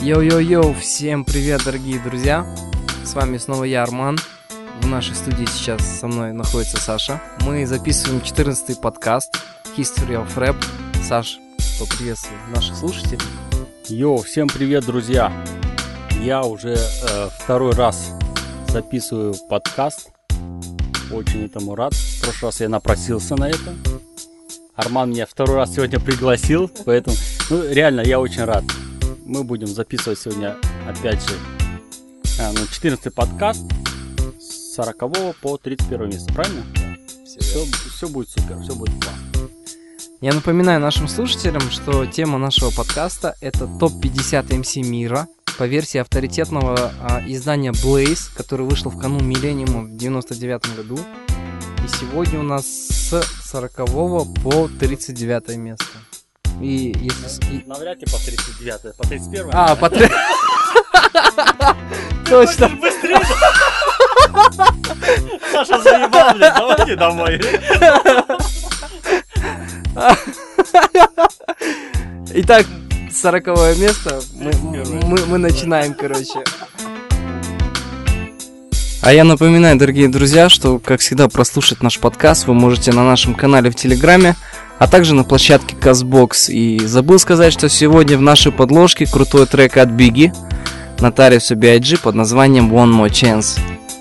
Йоу-йоу-йоу, всем привет, дорогие друзья! С вами снова я, Арман. В нашей студии сейчас со мной находится Саша. Мы записываем 14-й подкаст History of Rap. Саш, поприветствуй наших слушателей. Йоу, всем привет, друзья! Я уже второй раз записываю подкаст. Очень этому рад. В прошлый раз я напросился на это. Арман меня второй раз сегодня пригласил, поэтому, реально, я очень рад. Мы будем записывать сегодня, опять же, 14-й подкаст с 40 по 31 место, правильно? Все будет супер, все будет классно. Я напоминаю нашим слушателям, что тема нашего подкаста — это топ-50 MC мира по версии авторитетного издания Blaze, который вышел в канун миллениума в 99 году. И сегодня у нас с 40 по 39 место. И если... Навряд ли по 39, по 31. По 30... Точно. Быстрее. Саша заебал, блядь, давайте домой. Итак, 40-е место. Мы начинаем, короче. А я напоминаю, дорогие друзья, что, как всегда, прослушать наш подкаст вы можете на нашем канале в Телеграме, а также на площадке Castbox. И забыл сказать, что сегодня в нашей подложке крутой трек от Biggie, Notorious B.I.G. под названием One More Chance.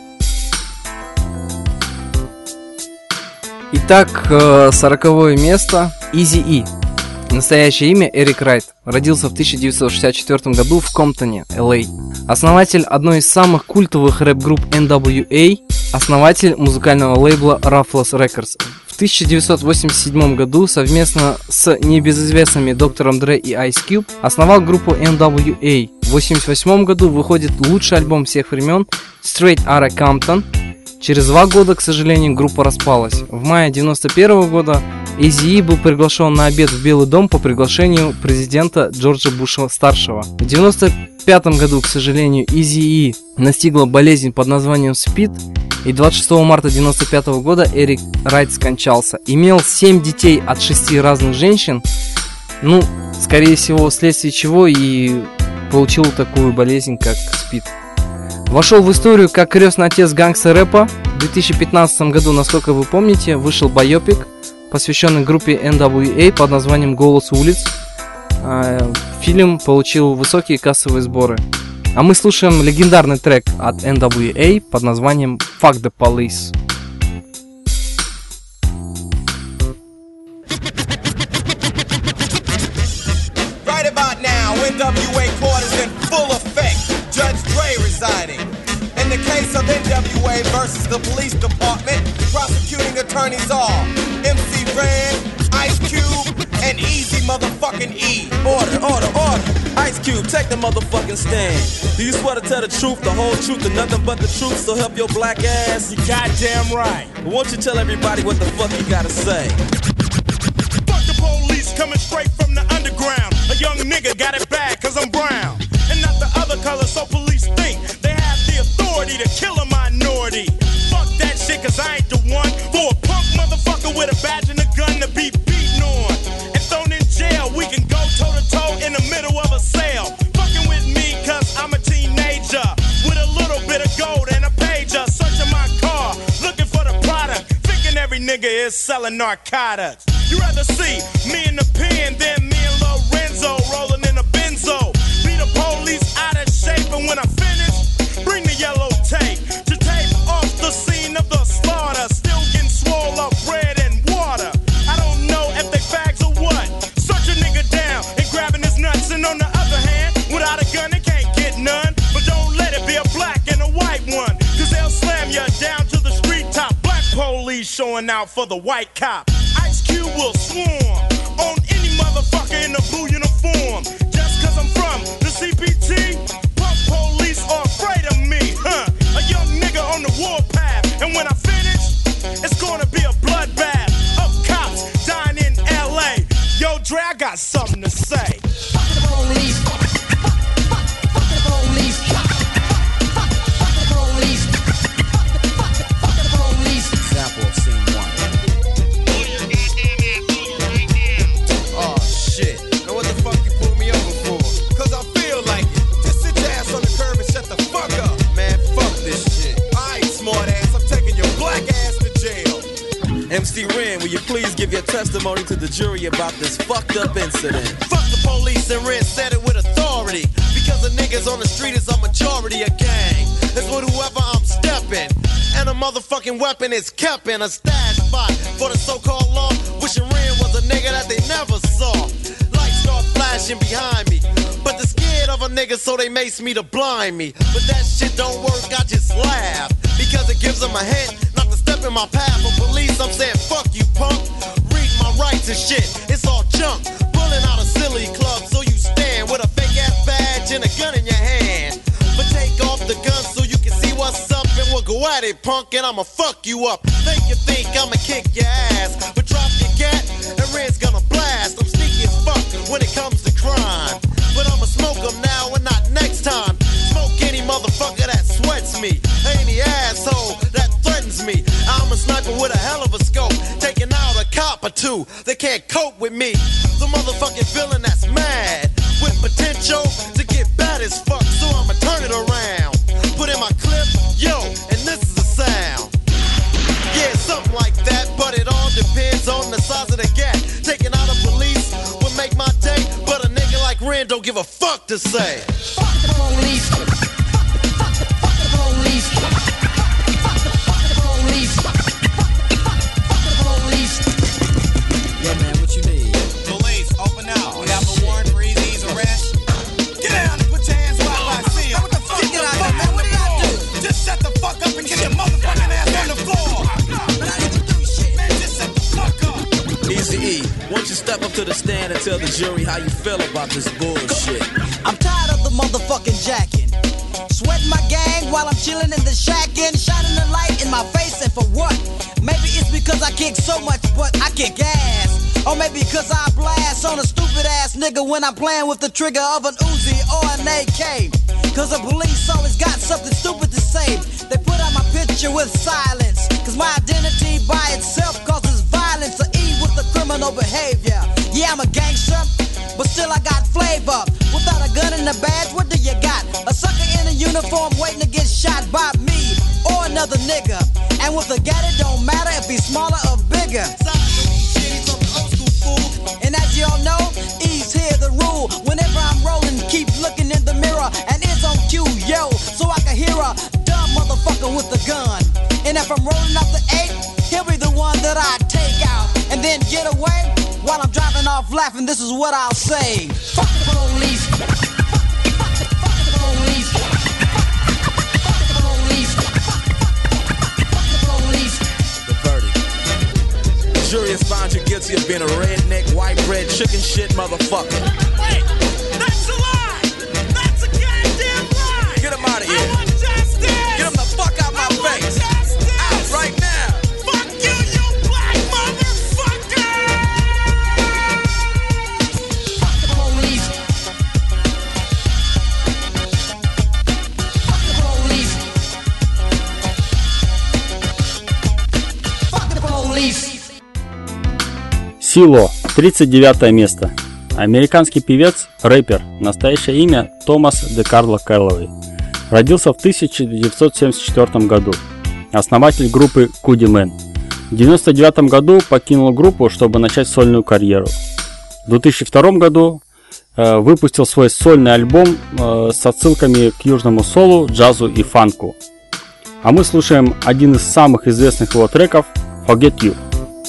Итак, 40-е место. Eazy-E. Настоящее имя Эрик Райт. Родился в 1964 году в Комптоне, Л.А. Основатель одной из самых культовых рэп-групп NWA, основатель музыкального лейбла Ruthless Records. В 1987 году совместно с небезызвестными Доктором Dre и Ice Cube основал группу NWA. В 1988 году выходит лучший альбом всех времен Straight Outta Compton. Через 2 года, к сожалению, группа распалась. В мае 1991 года Eazy-E был приглашен на обед в Белый дом по приглашению президента Джорджа Буша-старшего. В 1995 году, к сожалению, Eazy-E настигла болезнь под названием СПИД, и 26 марта 1995 года Эрик Райт скончался. Имел 7 детей от 6 разных женщин, скорее всего, вследствие чего и получил такую болезнь, как СПИД. Вошел в историю как крестный отец гангстер-рэпа. В 2015 году, насколько вы помните, вышел байопик, посвященный группе NWA под названием «Голос улиц». Фильм получил высокие кассовые сборы. А мы слушаем легендарный трек от NWA под названием «Fuck the Police». Right about now, NWA court is in full effect. Judge Dre residing. In the case of NWA versus the police department, prosecuting attorneys are MC Ren, Ice Cube, and Easy motherfucking E. Order. Ice Cube, take the motherfucking stand. Do you swear to tell the truth, the whole truth, and nothing but the truth, so help your black ass? You goddamn right. But won't you tell everybody what the fuck you gotta say? Fuck the police coming straight from the underground. A young nigga got it bad cause I'm brown. And not the other color, so police think they have the authority to kill a minority. Fuck that shit cause I ain't the one for a punk motherfucker with a badge and a gun to be beaten on and thrown in jail. We can go toe to toe in the middle of a sale. Fucking with me cause I'm a teenager with a little bit of gold and a pager. Searching my car, looking for the product, thinking every nigga is selling narcotics. You rather see me in the pen than me and Lorenzo rolling in a benzo. Be the police out of shape, and when I finish, bring the yellow tape to tape off the scene of the slaughter. Still getting swole up bread and water. I don't know if they fags or what. Search a nigga down and grabbing his nuts, and on the other hand, without a gun they can't get none. But don't let it be a black and a white one, cause they'll slam you down to the street top. Black police showing out for the white cop. Ice Cube will swarm on any motherfucker in a blue uniform. Just cause I'm from the CPT, punk police are afraid of me, huh? A young nigga on the warpath, and when I finish, it's gonna be a bloodbath of cops dying in LA. Yo, Dre, I got something to say. Fuck the police. Fuck the police. Fuck the police. Fuck the police. Example of scene 1. Oh shit. Now what the fuck you pulled me over for? Cause I feel like it. MC Ren, will you please give your testimony to the jury about this fucked up incident? Fuck the police, and Ren said it with authority. Because the niggas on the street is a majority of gang. That's with whoever I'm stepping. And a motherfucking weapon is kept in a stash spot for the so-called law. Wishing Ren was a nigga that they never saw. Lights start flashing behind me, but they're scared of a nigga, so they mace me to blind me. But that shit don't work, I just laugh, because it gives them a hint not to step in my path. For police, I'm saying fuck you, punk. Read my rights and shit, it's all junk. Pulling out a silly club, so you stand with a fake ass badge and a gun in your hand. But take off the gun so you can see what's up, and we'll go at it, punk, and I'ma fuck you up. Make you think I'ma kick your ass, but drop your gat, and Red's gonna blast. I'm sneaky as fuck when it comes to crime, but I'ma smoke them now and not next time. Smoke any motherfucker that sweats me, any asshole that threatens me. I'm a sniper with a hell of a scope, taking out a cop or two. They can't cope with me. The motherfucking villain that's mad, with potential to get bad as fuck. So I'ma turn it around, put in my clip, yo, and this is the sound. Yeah, something like that, but it all depends on the size of the gap. Taking out a police would make my day, but a nigga like Ren don't give a fuck to say. Fuck the police. Fuck the police. Fuck the police. Fuck the police. Yeah, man, what you need? Police, open up. We have a warrant for Easy's arrest. Get down and put your hands where I see them. What the fuck? Get out of there, man. What did I do? Just shut the fuck up and get your motherfucking ass on the floor. But I didn't do shit. Man, just shut the fuck up. Easy E, won't you step up to the stand and tell the jury how you feel about this bullshit? I'm tired of the motherfucking jacking. Sweating my gang while I'm chilling in the shack and shining the light in my face, and for what? Maybe it's because I kick so much, but I kick ass. Or maybe because I blast on a stupid ass nigga when I'm playing with the trigger of an Uzi or an AK. Cause the police always got something stupid to say. They put out my picture with silence, cause my identity by itself causes violence. Or E with the criminal behavior. Yeah, I'm a gangster, but still I got flavor. Without a gun and a badge, what do you got? A sucker in a uniform waiting to get shot by me or another nigga. And with a gat, it don't matter if he's smaller or bigger. And as y'all know, E's here the rule. Whenever I'm rolling, keep looking in the mirror, and it's on cue, yo, so I can hear a dumb motherfucker with a gun. And if I'm rolling up the 8, he'll be the one that I take out and then get away. While I'm driving off laughing, this is what I'll say. Fuck the police. Fuck the police. Fuck the police. Fuck the police. The verdict. The jury has found you guilty of being a redneck, white bread, chicken shit motherfucker. Wait, that's a lie. That's a goddamn lie. Get him out of here. I want justice. Get him the fuck out my face. Out right now. Fuck you, you black motherfucker. Fuck the police. Fuck the police. Fuck the police. Сило, 39 место. Американский певец, рэпер, настоящее имя Томас де Карло Кэллоуэй. Родился в 1974 году. Основатель группы Куди Мэн. В 1999 году покинул группу, чтобы начать сольную карьеру. В 2002 году выпустил свой сольный альбом с отсылками к южному солу, джазу и фанку. А мы слушаем один из самых известных его треков «Forget You».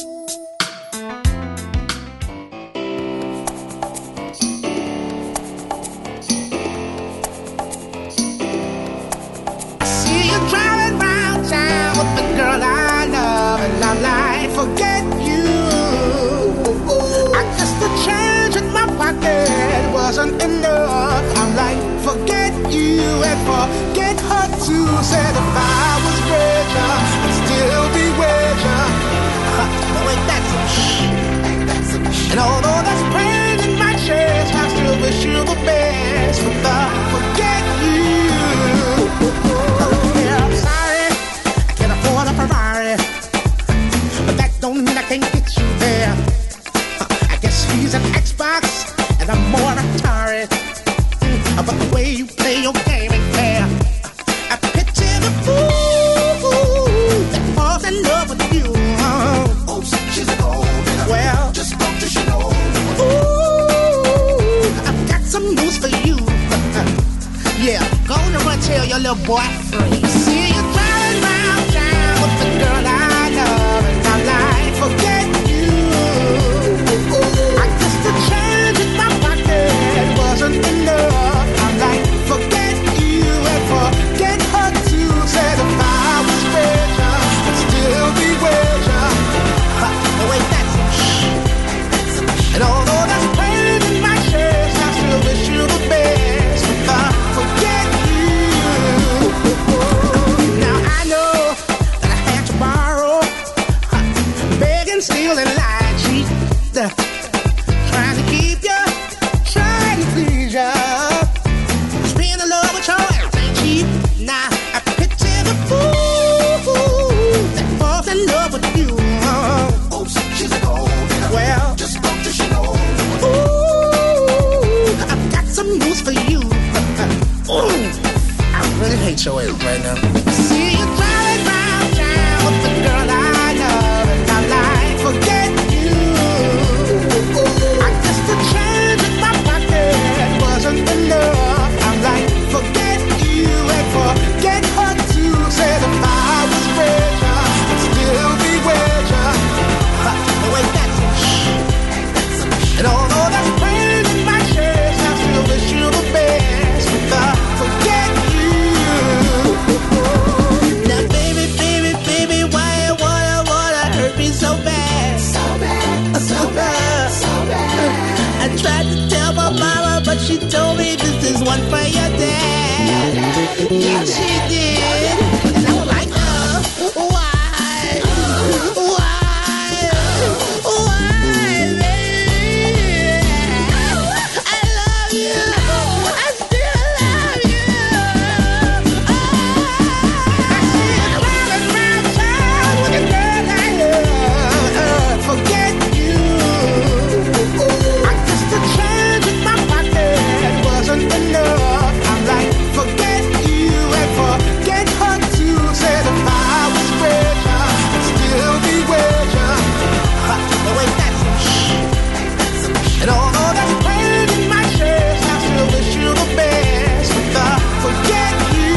See you driving round town with the girl I love, and I'm like, forget you. I guess the change in my pocket wasn't enough. I'm like, forget you and forget her too. Said if I was richer, I'd still be richer. But ain't that some shit? And although there's pain in my chest, I still wish you the best. But the forget you. Yeah, I'm sorry, I can't afford a Ferrari, but that don't mean I can't get you there. I guess he's an Xbox and I'm more Atari, but the way you play your game ain't fair. I picture the fool that falls in love with you. Oh, your little boy free. See you driving round town with the girl I love, and I'm like, forget you. I guess the change in my pocket wasn't enough. I'm like, forget you and forget her too. Said if I was richer, I'd still be richer. Oh wait, that's some shh. And although that's pain in my chest, I still wish you the best. If I forget you. Now I know that I had to borrow, begging, steal, and lie, cheat. Trying to keep you, trying to please you. Just being in love with your ass ain't cheap. Now I picture the fool that falls in love with you. Oh, she's a gold. Well, just don't you know. Ooh, I've got some news for you. Ooh, I really hate your ass right now. See you driving round town with the girl I love, and I'm like, forget you. I guess the change in my pocket wasn't enough. I'm like, forget you and forget her too. Said if I was richer, I'd still be richer. Oh wait, that's some shh. And although that's pain in my chest, I still wish you the best. If I forget you. Now baby, baby, baby, why you wanna hurt me so bad? So bad, so bad, so bad. I tried to tell my mama, but she told me this is one for your dad. Yeah, she did. And I was like, why? Why, baby? I love you. I still love you. I see you driving round town with a girl I love. Forget you. I guess the change in my pocket wasn't enough. I'm like, forget you and forget her too. Said if I was richer, I'd still be richer. Oh wait, that's some shh. And although that's pain in my chest, I still wish you the best. If I forget you.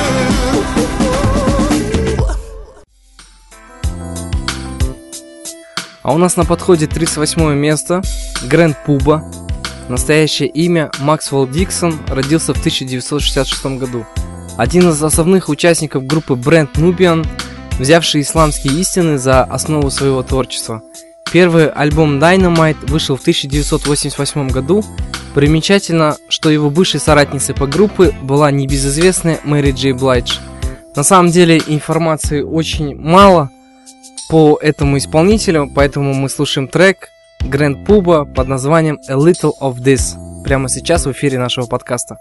А у нас на подходе 38 место. Grand Puba. Настоящее имя Максвелл Диксон, родился в 1966 году. Один из основных участников группы Brand Nubian, взявший исламские истины за основу своего творчества. Первый альбом Dynamite вышел в 1988 году. Примечательно, что его бывшей соратницей по группе была небезызвестная Мэри Джей Блайдж. На самом деле информации очень мало по этому исполнителю, поэтому мы слушаем трек Grand Puba под названием A Little of This прямо сейчас в эфире нашего подкаста.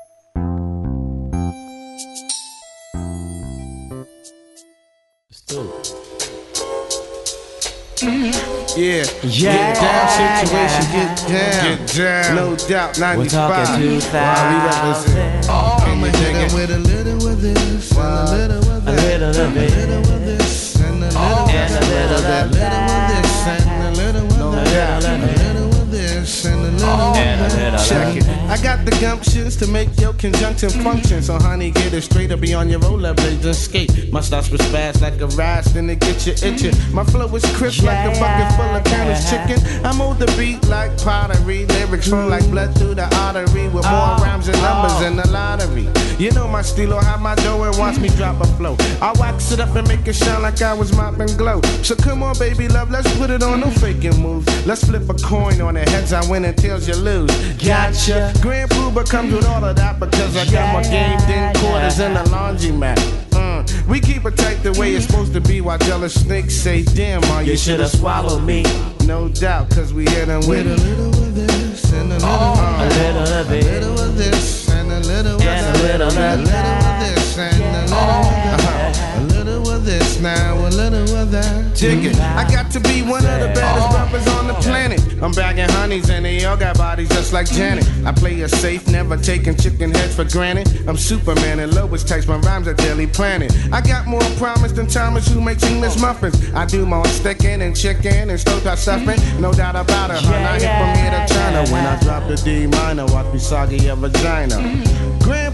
Yeah, get down situation, get down. No doubt, 95. We represent. I'ma hit it with a little of this, and a little of that, a little of this, and a little of that, a little of this, and a little of that, a little of this, and a little of that. Check it. I got the gumptions to make your conjunction function. So honey, get it straight or be on your rollerblades and skate. My starts with spaz like a rise, then it get you itching. My flow is crisp like a bucket full of Canis chicken. I move the beat like pottery. Lyrics flow like blood through the artery. With more rhymes and numbers in the lottery. You know my stilo, how my dough and watch me drop a flow. I wax it up and make it shine like I was mopping glow. So come on baby love, let's put it on, no faking moves. Let's flip a coin on it, heads I win and tails you lose. Gotcha. Grand Puba comes with all of that because I got my gamed in quarters in the laundromat. We keep it tight the way it's supposed to be while jealous snakes say, damn, you should've swallowed me. No doubt, cause we hit them with a little of this and a little of this, a little of this and a little of that, a little of this and a little of this now, a little of that. Check it, I got to be one of the baddest rappers on the planet. I'm bagging honeys and they all got bodies just like Janet. I play it safe, never taking chicken heads for granted. I'm Superman and Lois types my rhymes are Daily Planet. I got more promise than Thomas who makes English muffins. I do more sticking and chicken and stovetop stuffing. No doubt about it, hun. I hit from here to China. When I drop the D minor, watch me soggy your vagina. Grand Puba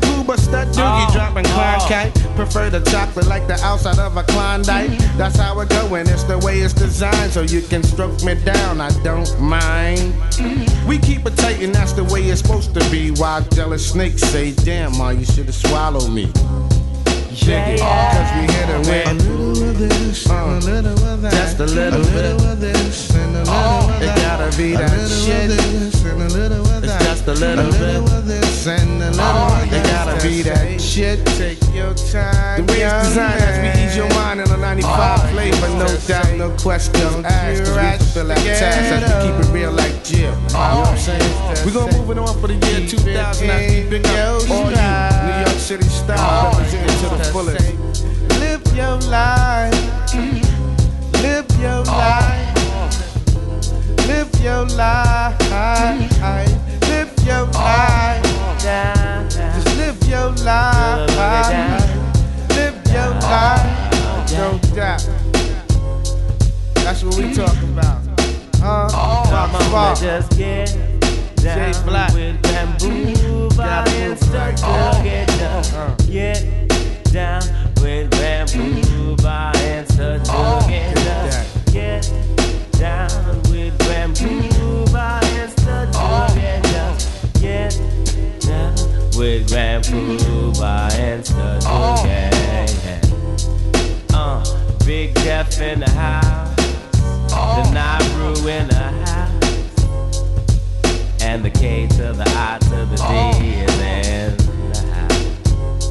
Stud doogie dropping Klondike. Prefer the chocolate like the outside of a Klondike. That's how it go, and it's the way it's designed. So you can stroke me down, I don't mind. We keep it tight, and that's the way it's supposed to be. While jealous snakes say, damn, ma, you should've swallowed me. Yeah, cause we hit it with a little of this, a little of that. Just a little bit of this, and a little of that. It gotta be that shit. And a little of that. It's just a little bit of this, and a little of that. It gotta be that shit. Take your time. The way it's designed as we ease your mind in a 95 flavor, no doubt, no questions asked. Cause we can fill that task as we keep it real like Jill. You know what I'm saying? We gonna move it on for the year 2000 as we pick up all you New York City style, representing to the fullest. Live your life. Live your life. Live your life. Live your life. Just live your life. Live your life. No doubt. That's what we talk about. Mama, just get down with bamboo and start to get down. Get down with bamboo and start to get down. Get down with bamboo and start to get down. Get down with bamboo and start to get down. Big Jeff in the house. The Nauru in the house, and the K to the I to the D is in the house.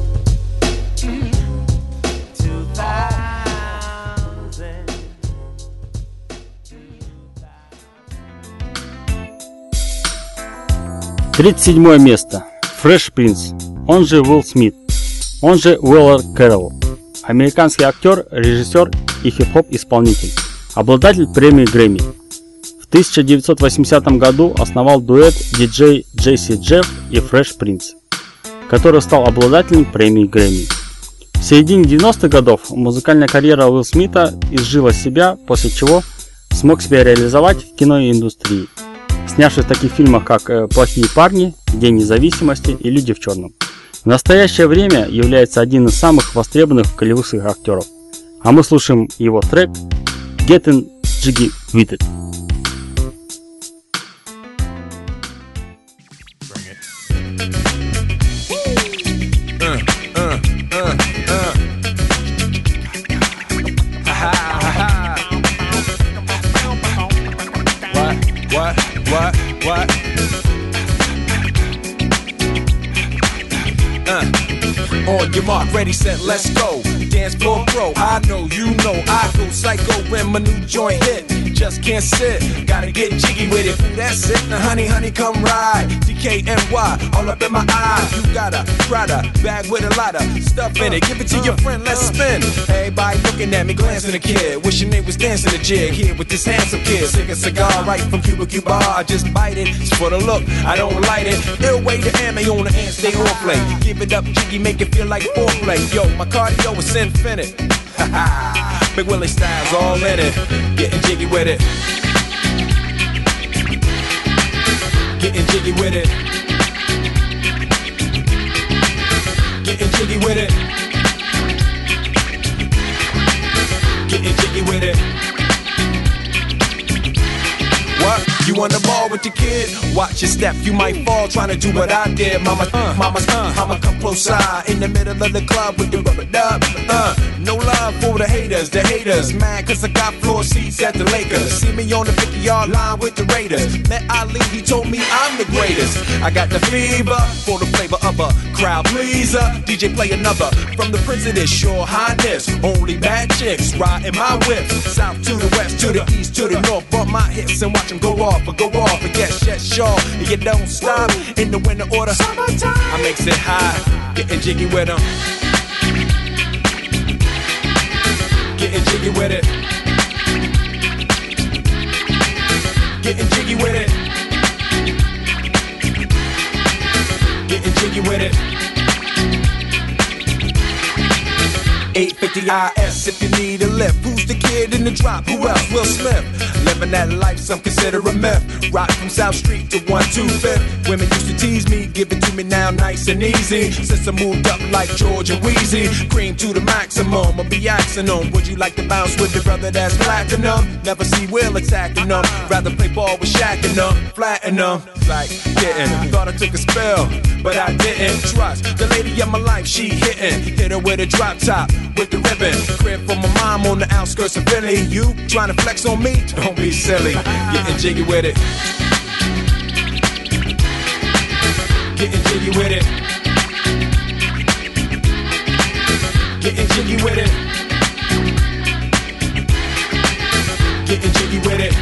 37 место. Fresh Prince, он же Уилл Смит, он же Уиллер Кэрролл. Американский актер, режиссер и хип-хоп исполнитель. Обладатель премии Грэмми. В 1980 году основал дуэт диджей Джесси Джефф и Fresh Prince, который стал обладателем премии Грэмми. В середине 90-х годов музыкальная карьера Уилла Смита изжила себя, после чего смог себя реализовать в киноиндустрии, снявшись в таких фильмах, как «Плохие парни», «День независимости» и «Люди в черном». В настоящее время является одним из самых востребованных голливудских актеров. А мы слушаем его трек Getting Jiggy With It. What? On your mark, ready, set, let's go. Dance floor pro, I know, you know, I go psycho when my new joint hit. Just can't sit, gotta get jiggy with it. That's it, now honey, come ride. DKNY, all up in my eyes. You got a Prada bag with a lot of stuff in it. Give it to your friend, let's spin. Everybody looking at me, glancing a kid. Wishing they was dancing a jig here with this handsome kid. Sick a cigar right from Cuba Cuba. I just bite it, it's for the look, I don't light it. Ill way to ammo on the hand, stay on play. Give it up, jiggy, make it feel like foreplay. Yo, my cardio is infinite. Big Willie style's all in it. Getting jiggy with it. Getting jiggy with it. Getting jiggy with it. Getting jiggy with it. What? You on the ball with your kid? Watch your step, you might fall trying to do what I did. Mama, come close side in the middle of the club with the rubber dub. No love for the haters mad cause I got floor seats at the Lakers. See me on the 50-yard line with the Raiders. Met Ali, he told me I'm the greatest. I got the fever for the flavor of a crowd pleaser. DJ play another from the Prince of this Shore Highness. Only bad chicks riding my whip. South to the west, to the east, to the north. Bump my hips and watch them go off. And yes, sure, you don't stop in the winter order. Summertime. I makes it high, getting jiggy with them. Getting jiggy with it. Getting jiggy with it. Getting jiggy with it. 850 IS if you need a lift. Who's the kid in the drop? Who else? Will Smith. Let living that life some consider a myth. Rock from South Street to 125th. Women used to tease me, give it to me now nice and easy. Since I moved up like George and Wheezy, cream to the maximum, I'll be axing them. Would you like to bounce with your brother that's platinum? Never see Will attacking them. Rather play ball with Shaq and them, flatten them. Like getting, thought I took a spell, but I didn't trust the lady of my life. She hitting, hit her with a drop top with the ribbon. Crib for my mom on the outskirts of Philly. You trying to flex on me? Don't be silly. Getting jiggy with it. Getting jiggy with it. Getting jiggy with it. Getting jiggy with it.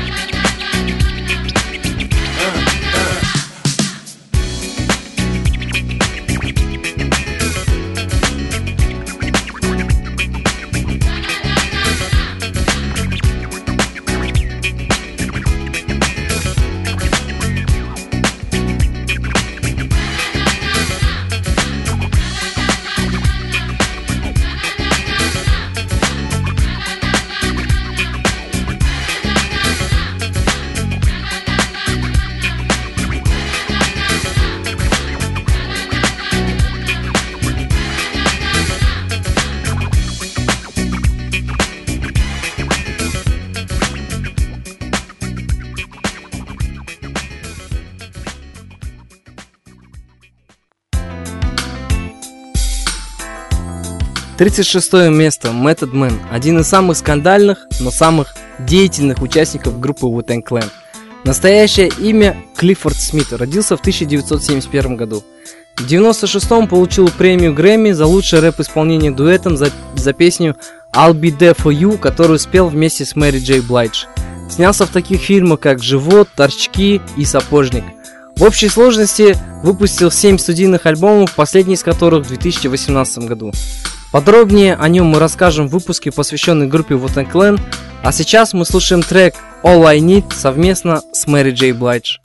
36 место. Method Man. Один из самых скандальных, но самых деятельных участников группы Wu-Tang Clan. Настоящее имя Клиффорд Смит. Родился в 1971 году. В 1996-м получил премию Грэмми за лучшее рэп-исполнение дуэтом за песню I'll Be There For You, которую спел вместе с Мэри Джей Блайдж. Снялся в таких фильмах, как «Живот», «Торчки» и «Сапожник». В общей сложности выпустил 7 студийных альбомов, последний из которых в 2018 году. Подробнее о нем мы расскажем в выпуске, посвященной группе Wu-Tang Clan, а сейчас мы слушаем трек All I Need совместно с Мэри Джей Блайдж.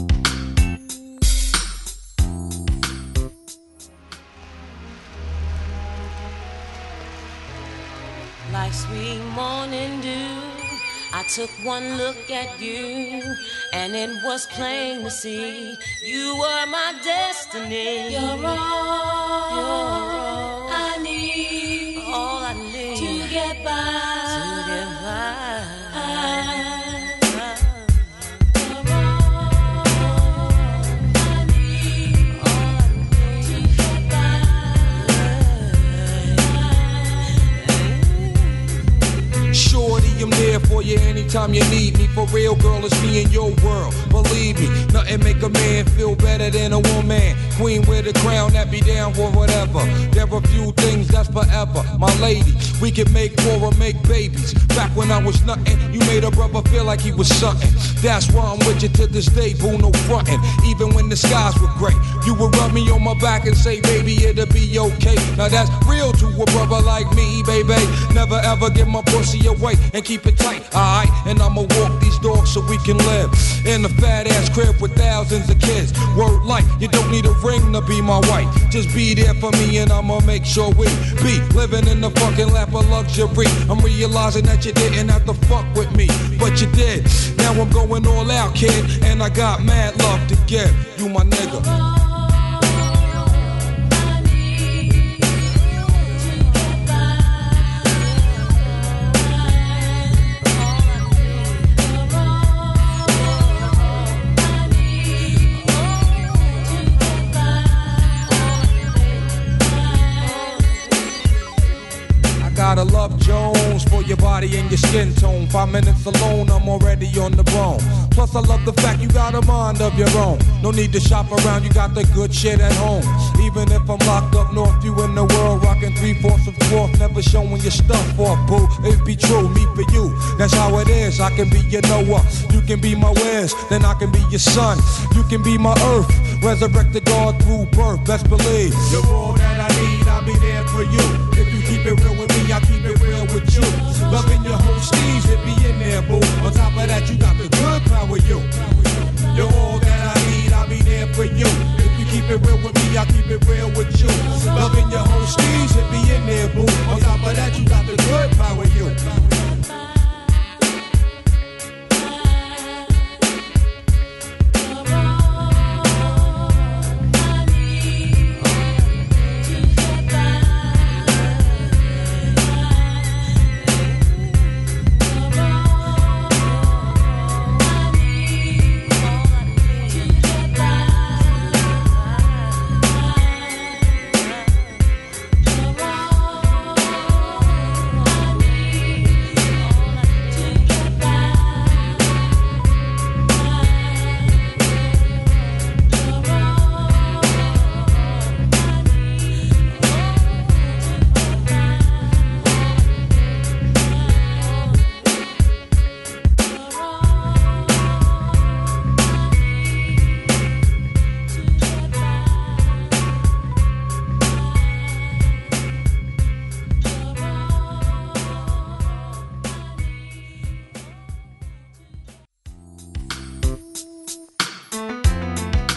Like sweet morning dew, I took one look at you, and it was plain to see you were my destiny. You're all I need, all I need to get by. I'm there for you anytime you need me. For real, girl, it's me in your world. Believe me, nothing make a man feel better than a woman. Queen with a crown that be down for whatever. There are few things that's forever. My lady, we can make war or make babies. Back when I was nothing, you made a brother feel like he was something. That's why I'm with you to this day, boo, no frontin'. Even when the skies were gray, you would rub me on my back and say, baby, it'll be okay. Now that's real to a brother like me, baby. Never ever give my pussy away and keep it tight, alright? And I'ma walk these dogs so we can live in a fat ass crib with thousands of kids. Word life, you don't need a ring to be my wife. Just be there for me and I'ma make sure we be living in the fucking lap of luxury. I'm realizing that you didn't have to fuck with me, but you did. Now I'm going all out, kid, and I got mad love to give. You my nigga. Gotta love Jones for your body and your skin tone. 5 minutes alone, I'm already on the bone. Plus I love the fact you got a mind of your own. No need to shop around, you got the good shit at home. Even if I'm locked up north, you in the world rocking 3/4 of 4th, never showing your stuff off, boo. It be true, me for you, that's how it is. I can be your Noah, you can be my Wes, then I can be your son. You can be my earth, resurrected God through birth, best believe. You're all that I need, I'll be there for you. If you keep it real with me, I keep it real with you. Loving your whole steez, it be in there, boo. On top of that, you got the good power, you. You're all that I need, I'll be there for you. If you keep it real with me, I keep it real with you. Loving your whole steez, it be in there, boo. On top of that, you got the good power, you.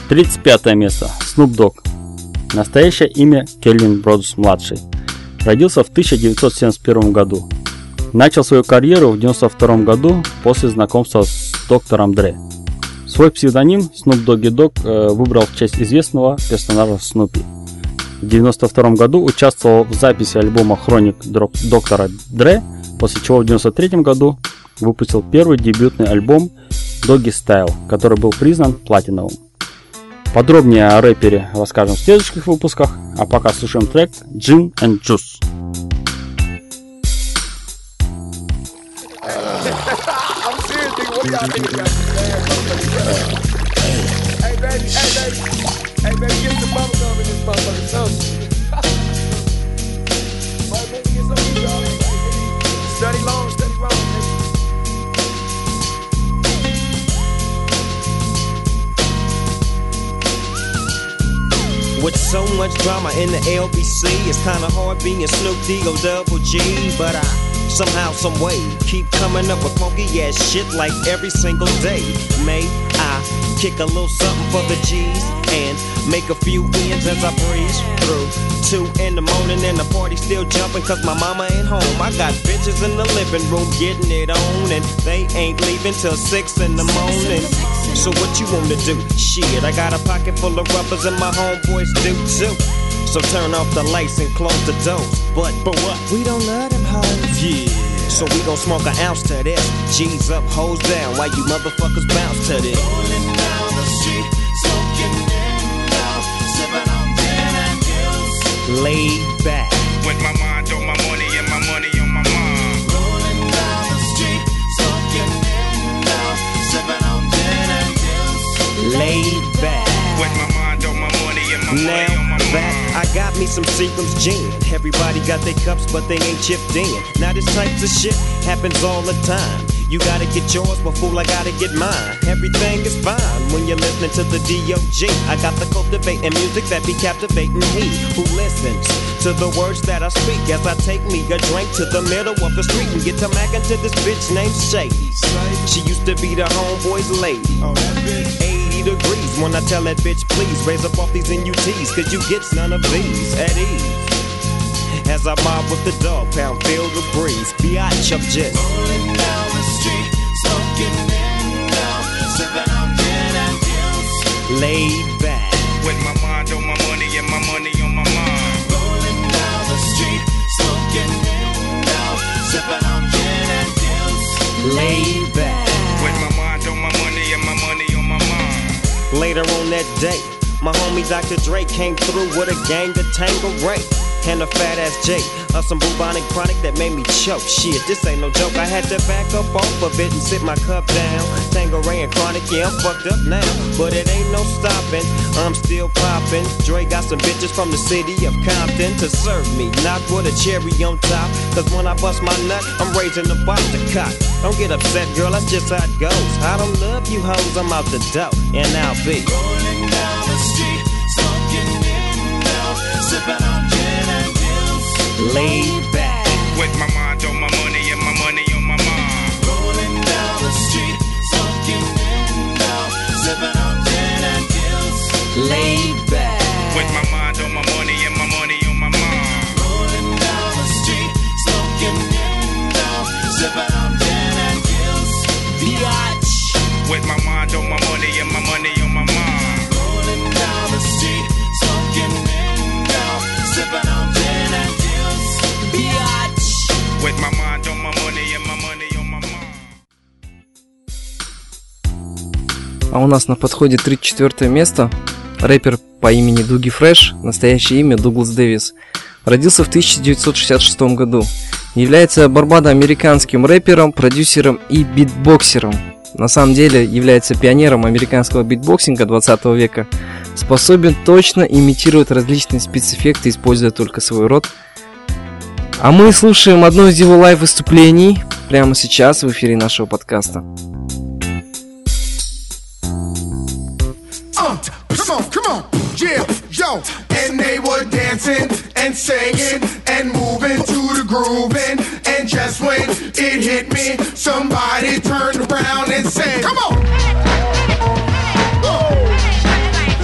35 место. Snoop Dogg. Настоящее имя Кельвин Бродс младший. Родился в 1971 году. Начал свою карьеру в 1992 году после знакомства с доктором Дре. Свой псевдоним Snoop Doggy Dogg выбрал в честь известного персонажа Снупи. В 1992 году участвовал в записи альбома Хроник доктора Дре, после чего в 1993 году выпустил первый дебютный альбом Doggy Style, который был признан платиновым. Подробнее о рэпере расскажем в следующих выпусках, а пока слушаем трек Gin and Juice. I'm serious, nigga. What y'all niggas got? Hey, baby. Hey, baby, get some bubble gum in this motherfucker. So, baby, get some of y'all. Study long, nigga. With so much drama in the LBC, it's kinda hard being Snoop D-O double G, but I somehow, some way keep coming up with funky ass shit like every single day. May I kick a little something for the G's and make a few ends as I breeze through 2 in the morning and the party still jumping cause my mama ain't home. I got bitches in the living room getting it on and they ain't leaving till 6 in the morning. So what you wanna do? Shit, I got a pocket full of rubbers and my homeboys do too. So turn off the lights and close the doors. But what? We don't love them hoes. Yeah. So we gon' smoke an ounce to this. G's up, hoes down, while you motherfuckers bounce to this. Rolling down the street, smoking window, sipping on gin and juice. Laid back. With my mind on my money and my money on my mind. Rolling down the street, smoking window, sipping on gin and juice. Laid back. With my mind on my money and my money on my mind. I got me some Seagram's gin. Everybody got their cups, but they ain't chipped in. Now this types of shit happens all the time. You gotta get yours, but fool, I gotta get mine. Everything is fine when you're listening to the D.O.G. I got the cultivating music that be captivating he who listens to the words that I speak as I take me a drink to the middle of the street and get to mackin' to this bitch named Shady. She used to be the homeboy's lady. 80 degrees when I tell that bitch, please raise up off these NUTs, cause you get none of these at ease. As I mob with the dog pound, feel the breeze. Biatch, I'm just rolling down the street, smoking window, sipping on gin and juice. Laid back. With my mind on my money and my money on my mind. Rolling down the street, smoking window, sipping on gin and juice. Laid back. With my mind on my money and my money on my mind. Later on that day, my homie Dr. Dre came through with a gang of Tangeray and a fat ass J of some bubonic chronic that made me choke. Shit, this ain't no joke. I had to back up off of it and sit my cup down. Tangeray and chronic, yeah, I'm fucked up now, but it ain't no stopping. I'm still popping. Dre got some bitches from the city of Compton to serve me, not with a cherry on top. Cause when I bust my nut, I'm raising the bar to cock. Don't get upset, girl, that's just how it goes. I don't love you hoes, I'm out the dough, and I'll be rolling down the street, smoking window, sipping on gin and juice. Laid back. With my mind on my money and my money on my mind. Rolling down the street, smoking window, sipping on gin and juice. Laid back. With my mind on my money and my money on my mind. Rolling down the street, smoking window, sipping on gin and juice. Biatch. With my mind on my money and my money on my mind. Rolling down the street, smoking window, sipping on gin and juice. Biatch. With my mind on my money and my money on my mind. А у нас на подходе 34 место. Рэпер по имени Дуги Фреш, настоящее имя Дуглас Дэвис. Родился в 1966 году. Является барбадо-американским рэпером, продюсером и битбоксером. На самом деле является пионером американского битбоксинга 20 века. Способен точно имитировать различные спецэффекты, используя только свой рот. А мы слушаем одно из его лайв-выступлений прямо сейчас в эфире нашего подкаста. Come on, yeah, yo. And they were dancing and singing and moving to the grooving. And just when it hit me, somebody turned around and said, come on.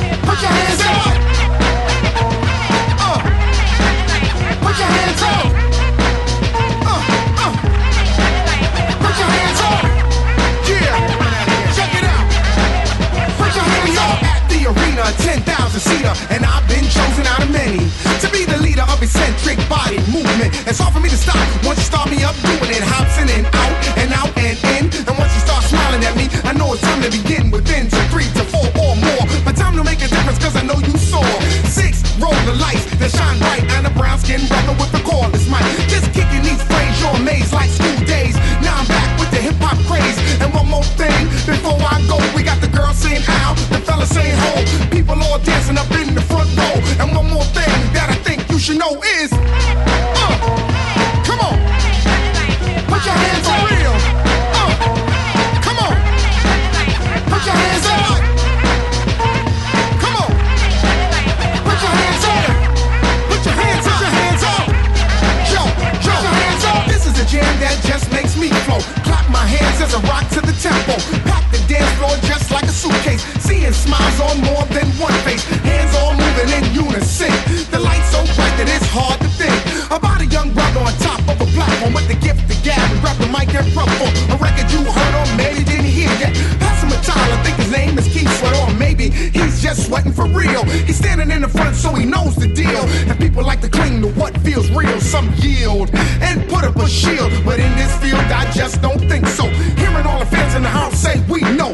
hard for me to stop. Once you start me up doing it, hops in and out and out and in. And once you start smiling at me, I know it's time to begin within 2, 3 to 4 or more. My time to make a difference, cause I know you saw 6 roll the lights that shine bright, and a brown skin brother with the cordless mic. Just kicking these frames, you're amazed like school days. Now I'm back with the hip hop craze. And one more thing before I go, we got the girl saying ow, the fella saying ho, people all dancing up in the front row. And one more thing that I think you should know is, come on, put your hands on real. Come on, put your hands up. Come on, put your hands up. Put your hands up. Put your hands up. Yo, put your hands up. This is a jam that just makes me flow. Clap my hands as I rock to the tempo. Pack the dance floor just like a suitcase. Seeing smiles on more than one face. Hands all moving in unison. The light's so bright that it's hard to think about a young brother on top of a platform with the gift to gab and grab the mic and perform a record you heard or maybe didn't hear yet. Pass him a towel, I think his name is Keith Sweat, or maybe he's just sweating for real. He's standing in the front so he knows the deal. And people like to cling to what feels real. Some yield and put up a shield, but in this field I just don't think so. Hearing all the fans in the house say we know.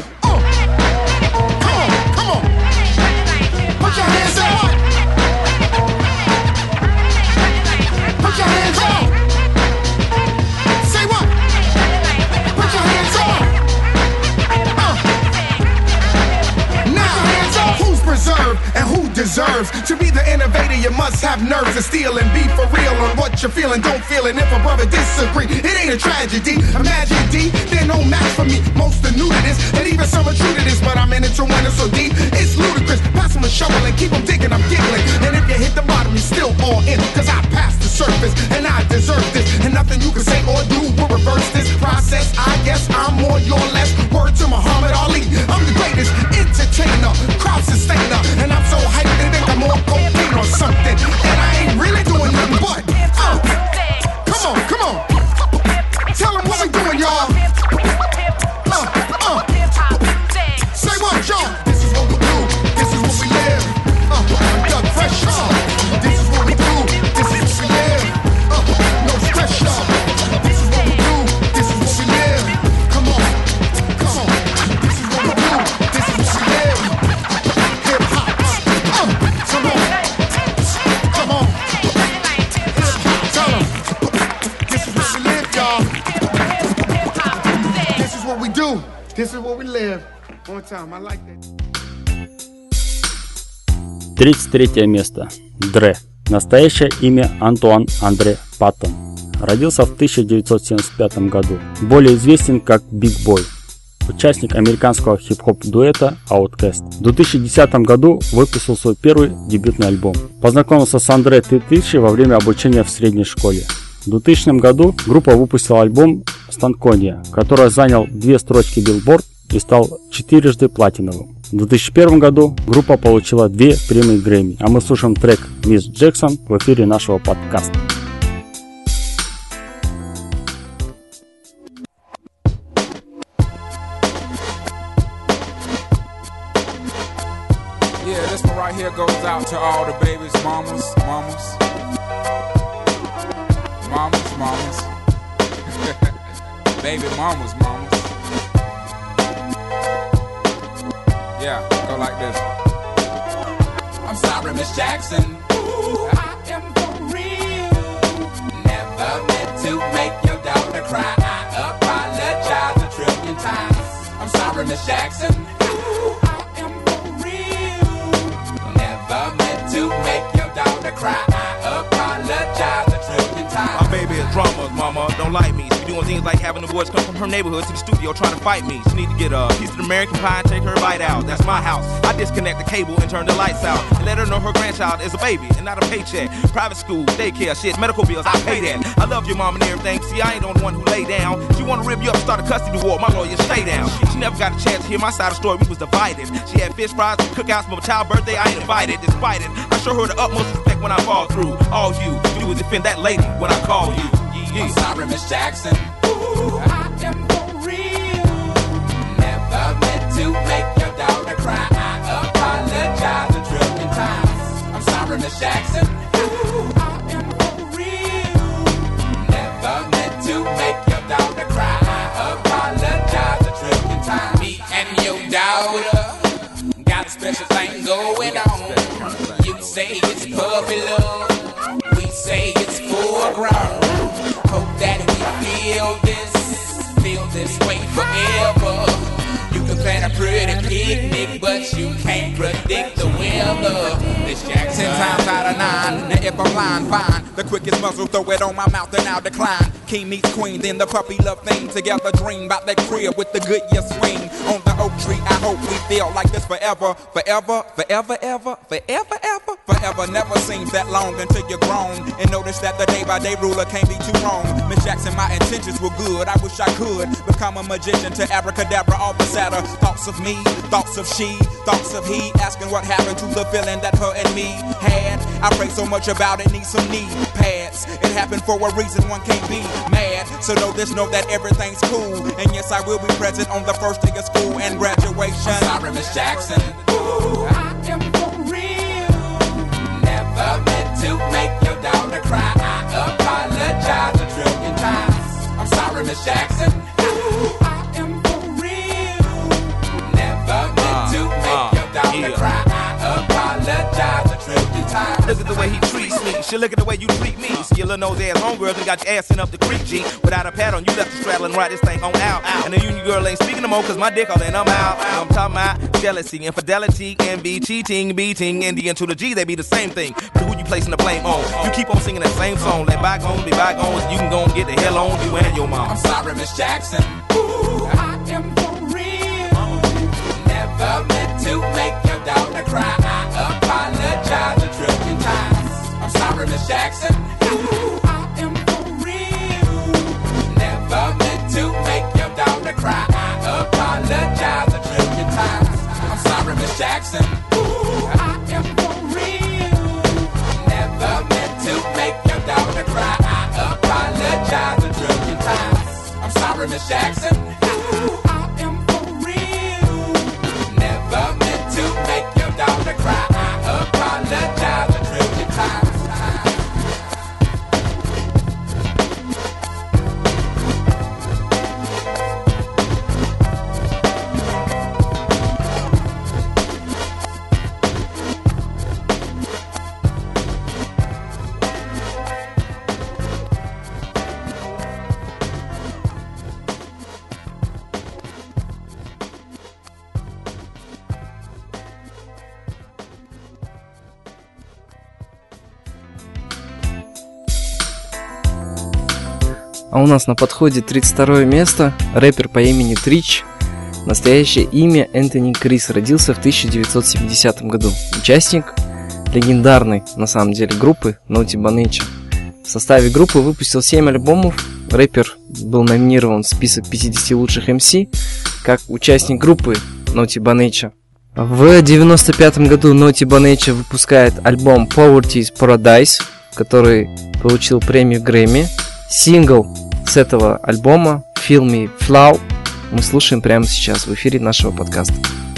Come on. Put your hands up. Put your hands up. Say what? Put your hands up. Now, hands up. Who's preserved and who deserves to be the innovator? You must have nerves to steal and be for real on what you're feeling. Don't feel it if a brother disagree. It ain't a tragedy. Imagine D, they're no match for me. Most are new to this, and even some are true to this. But I'm in it to win it so deep, it's ludicrous. Pass them a shovel and keep them digging, I'm giggling. And if you hit the bottom, you're still all in. Cause I passed the surface, and I deserve this. And nothing you can say or do will reverse this process. I guess I'm more, you're less. Word to Muhammad Ali, I'm the greatest entertainer, crowd sustainer. And I'm so hyped they think I'm more cocaine or something. And I ain't really doing nothing but come on. Tell them what we doing, y'all. Say what, y'all? This is what we do. This is what we live. Doug Fresh, y'all. This is what we do. This is what we live. No stress, y'all. This is what we do. This is what we live. Come on. This is what we do. This is what we live. Hip hop. Come on. Tell them. This is what we live, y'all. This is what we do. This is what we live. One time, I like that. 33 место. Dre. Настоящее имя Антуан Андре Паттон. Родился в 1975 году. Более известен как Big Boy. Участник американского хип-хоп дуэта Outkast. В 2010 году выпустил свой первый дебютный альбом. Познакомился с Андре 3000 во время обучения в средней школе. В 2000 году группа выпустила альбом Stankonia, который занял 2 строчки Billboard и стал 4-жды платиновым. В 2001 году группа получила 2 премии Грэмми, а мы слушаем трек Miss Jackson в эфире нашего подкаста. Yeah, this one right here goes out to all the babies, mamas. Baby mamas. Yeah, go like this. I'm sorry, Miss Jackson. Ooh, I am for real. Never meant to make your daughter cry. I apologize 1,000,000,000 times. I'm sorry, Miss Jackson. Ooh, I am for real. Never meant to make your daughter cry. I apologize 1,000,000,000 times. My baby is drama, mama. Don't like me. She be doing things like having the boys come from her neighborhood to the studio trying to fight me. She need to get a piece of American pie and take her bite out. That's my house. I disconnect the cable and turn the lights out and let her know her grandchild is a baby and not a paycheck. Private school, daycare, shit, medical bills, I pay that. I love your mom and everything. See, I ain't the only one who lay down. She wanna rip you up, start a custody war. My lawyer, stay down. She never got a chance to hear my side of the story. We was divided. She had fish fries and cookouts for my child's birthday. I ain't invited. Despite it, I show her the utmost respect when I fall through. All you do is defend that lady when I call you. Yeah. I'm sorry, Miss Jackson. Ooh, I am for real. Never meant to make your daughter cry. I apologize 1,000,000,000 times. I'm sorry, Miss Jackson. Ooh, I am for real. love Miss Jackson. 10 times out of 9. Now if I'm lying, fine. The quickest muzzle, throw it on my mouth and I'll decline. King meets queen, then the puppy love thing. Together dream about that crib with the good year swing. On the oak tree, I hope we feel like this forever. Forever, forever, ever, forever, ever. Forever never seems that long until you're grown. And notice that the day by day ruler can't be too wrong. Miss Jackson, my intentions were good. I wish I could become a magician to abracadabra all the sadder. Thoughts of me, thoughts of she, thoughts of he. Asking what happened to the feeling that her and me had. I pray so much about it, need some knee pads. It happened for a reason, one can't be mad. So know this, know that everything's cool. And yes, I will be present on the first day of school and graduation. I'm sorry, Miss Jackson. Ooh, I am for real. Never meant to make your daughter cry. I apologize a trillion times. I'm sorry, Miss Jackson. Ooh, I am for real. Never meant to make your daughter cry. I apologize a trillion times. Look at the way he treats me. Shit, look at the way you treat me. See your little nose ass homegirl and got your ass sent up the creek, G. Without a pad on, you left the straddle and ride this thing on out. And the union girl ain't speaking no more, cause my dick all in, I'm out. I'm talking about jealousy, infidelity, envy, cheating, beating, and the N to the G, they be the same thing. But who you placing the blame on? You keep on singing that same song. Let bygones be bygones, you can go and get the hell on you and your mom. I'm sorry, Miss Jackson. Ooh, I am for real. Never meant to make your daughter cry. I apologize a trillion times. I'm sorry, Miss Jackson. Ooh, I am for real. Never meant to make your daughter cry. I apologize a trillion times. I'm sorry, Miss Jackson. Ooh, I am for real. Never meant to make your daughter cry. I apologize a trillion times. I'm sorry, Miss Jackson. Ooh, I am for real. Never meant to make your daughter cry. I apologize a trillion times. А у нас на подходе 32 место. Рэпер по имени Трич. Настоящее имя Энтони Крис. Родился в 1970 году. Участник легендарной, на самом деле, группы Naughty by Nature. В составе группы выпустил 7 альбомов. Рэпер был номинирован в список 50 лучших MC как участник группы Naughty by Nature. В 1995 году Naughty by Nature выпускает альбом Poverty's Paradise, который получил премию Грэмми. Сингл с этого альбома Feel Me Flow мы слушаем прямо сейчас в эфире нашего подкаста.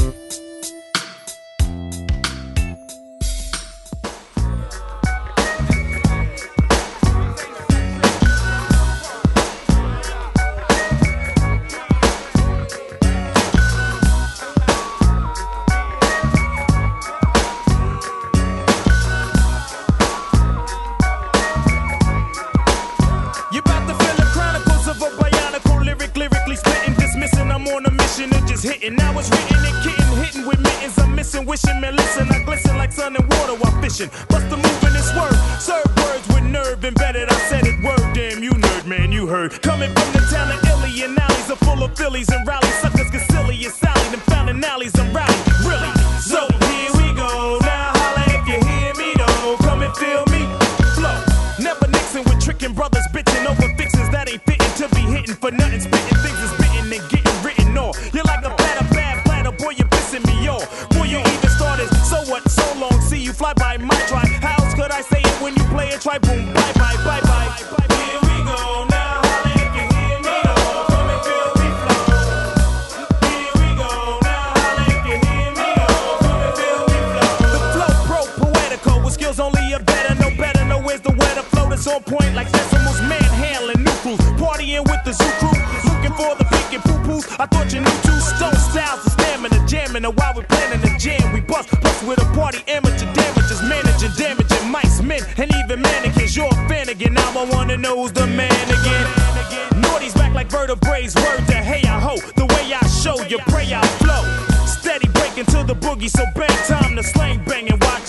Bust the move in this word. Serve words with nerve embedded. I said it word. Damn, you nerd, man, you heard. Coming from the town of Illy and alleys are full of Phillies and rallies. Suckers get silly and Sally. Them fountain alleys and rally. Really? So here we go. Now holla if you hear me though. Come and feel me. Flow. Never Nixon with tricking brothers bitching over fixins that ain't fitting to be hitting for nothing. Spitting things is bitten and getting written off. You're like a platter, bad platter. Boy, you're pissing me off. Boy, you even started. So what? So long. See you fly by my try. How else could I say it when you play it? Try boom, bye bye, bye bye. Here we go now. Holla if you hear me though. Come and feel me flow. Here we go now. Holla if you hear me though. Come and feel me flow. The flow pro poetical with skills only a better, no better. No where's the weather flow that's on point like Sesamo's manhandling new crews. Partying with the zoo crew. Looking for the pink and poo-poos. I thought you knew two stone styles of stamina, jamming. And while we planning the jam, we bust. Plus with a party amateur damages, managing, damaging mice, men, and even mannequins. You're a fan again. Now I wanna know who's the man again. Naughty's back like vertebrae. Word to hey I ho. The way I show you pray I flow. Steady breaking to the boogie, so bang time to slang bang and watch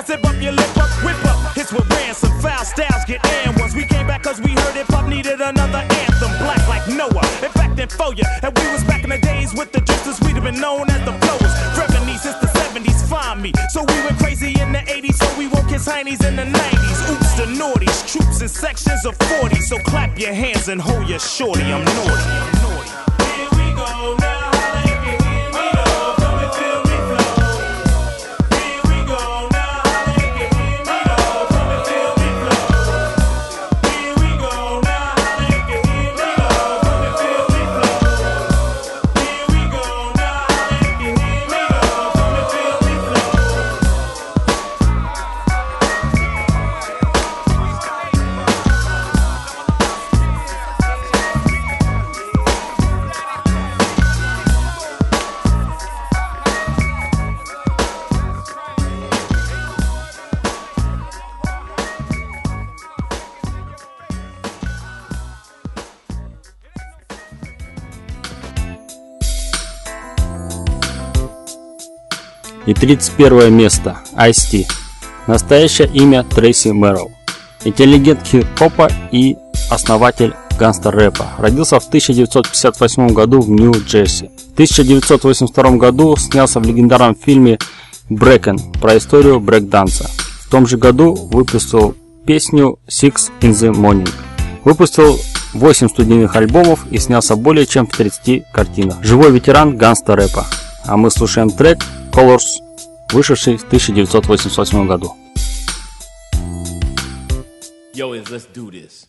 Zip up your lip up, whip up. Hits with ransom, foul styles get and ones. We came back cause we heard hip hop needed another anthem. Black like Noah, in fact, in for ya. And we was back in the days with the drifters, we'd have been known as the flowers. Revenue since the 70s, find me. So we went crazy in the 80s, so we woke his heinies in the 90s. Oops, the naughties, troops in sections of 40. So clap your hands and hold your shorty, I'm naughty. Here we go now. И 31 место. Ice-T. Настоящее имя Трейси Мэрроу. Интеллигент хип-хопа и основатель гангстер-рэпа. Родился в 1958 году в Нью-Джерси. В 1982 году снялся в легендарном фильме «Брэкен» про историю брейк-данса. В том же году выпустил песню «Six in the Morning». Выпустил 8 студийных альбомов и снялся более чем в 30 картинах. Живой ветеран гангстер-рэпа. А мы слушаем трек Colors, вышедший в 1988 году. Yo, let's do this.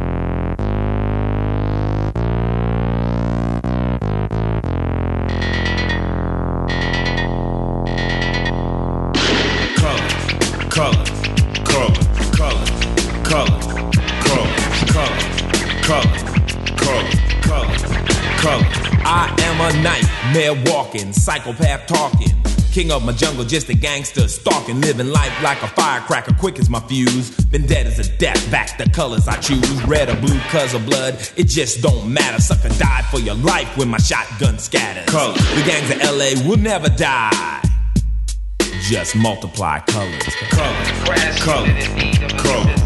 I am a nightmare walking, psychopath talking. King of my jungle, just a gangster stalking, living life like a firecracker, quick as my fuse. Been dead as a death, back the colors I choose. Red or blue, cause of blood, it just don't matter. Sucker died for your life when my shotgun scatters. Colors. The gangs of LA will never die. Just multiply colors. Colors. Colors. Colors. Colors.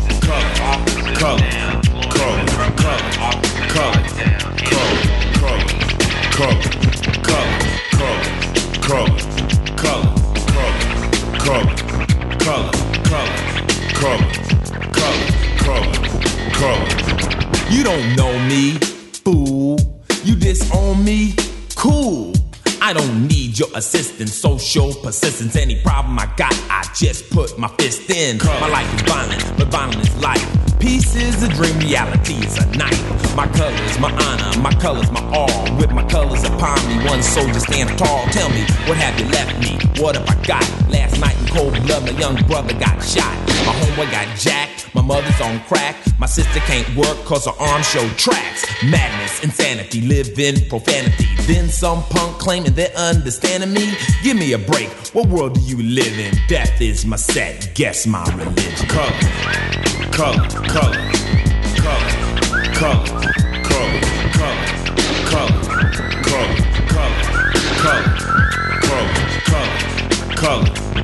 You don't know me, fool. You disown me, cool. I don't need your assistance, social persistence. Any problem I got, I just put my fist in. My life is violent, but violent is life. Peace is a dream, reality is a night. My colors, my honor, my colors, my all. With my colors upon me, one soldier stand tall. Tell me, what have you left me? What have I got? Last night in cold blood, my young brother got shot. My homeboy got jacked, my mother's on crack. My sister can't work cause her arms show tracks. Madness, insanity, live in profanity. Then some punk claiming they're understanding me. Give me a break, what world do you live in? Death is my set, guess my religion. Color, color, color, color, color, color, color, color, color, color, color, color,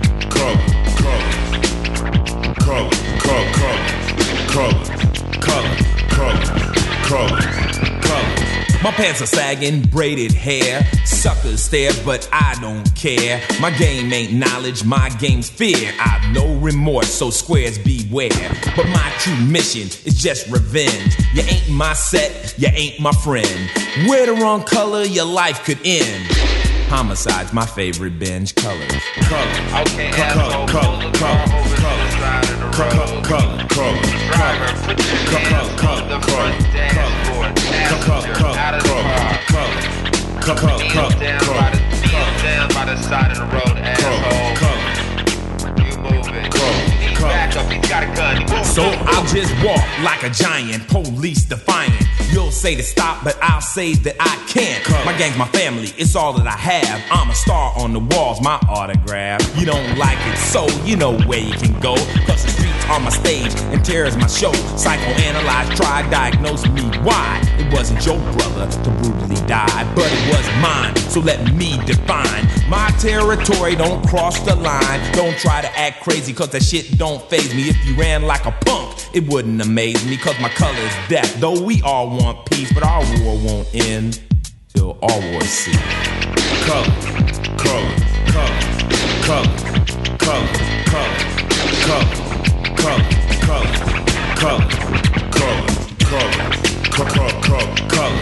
my pants are sagging, braided hair. Suckers stare, but I don't care. My game ain't knowledge, my game's fear. I've no remorse, so squares beware. But my true mission is just revenge. You ain't my set, you ain't my friend. Wear the wrong color, your life could end. Homicide's my favorite binge. Colors. Color. Okay, asshole, pull the car over to the side of the road. Color. Driver, put your hands on the front dashboard. Passenger, out of the car. Kneel down by the side of the road, asshole. You moving. He's back up, he's got a gun. So I'll just walk like a giant, police defiant. You'll say to stop, but I'll say that I can't. My gang's my family, it's all that I have. I'm a star on the walls, my autograph. You don't like it, so you know where you can go. Cause the streets are my stage and terror is my show. Psychoanalyze, try, diagnose me why it wasn't your brother to brutally die, but it was mine. So let me define my territory. Don't cross the line. Don't try to act crazy, cause that shit don't faze me. If you ran like a punk, it wouldn't amaze me, cause my color is death. Though we all want peace, but our war won't end till all wars cease. Color, color, color, color, color, color, color, color, color, color, color, color, color,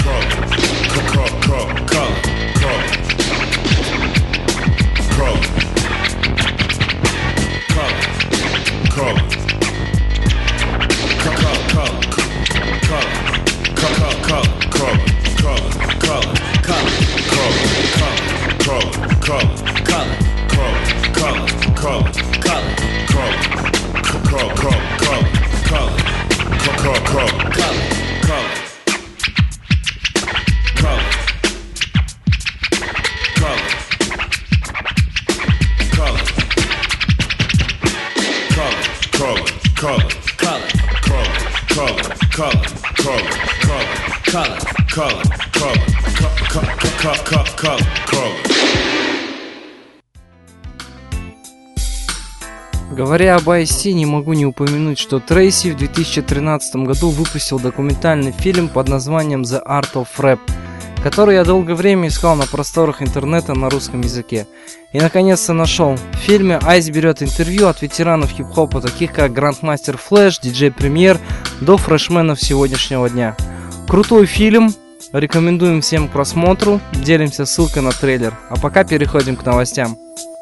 Говоря об Ice-T, не могу не упомянуть, что Трейси в 2013 году выпустил документальный фильм под названием The Art of Rap, который я долгое время искал на просторах интернета на русском языке. И наконец-то нашел. В фильме Ice берет интервью от ветеранов хип-хопа, таких как Grandmaster Flash, DJ Premier, до фрешменов сегодняшнего дня. Крутой фильм, рекомендуем всем к просмотру, делимся ссылкой на трейлер. А пока переходим к новостям.